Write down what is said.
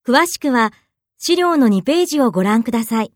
詳しくは資料の2ページをご覧ください。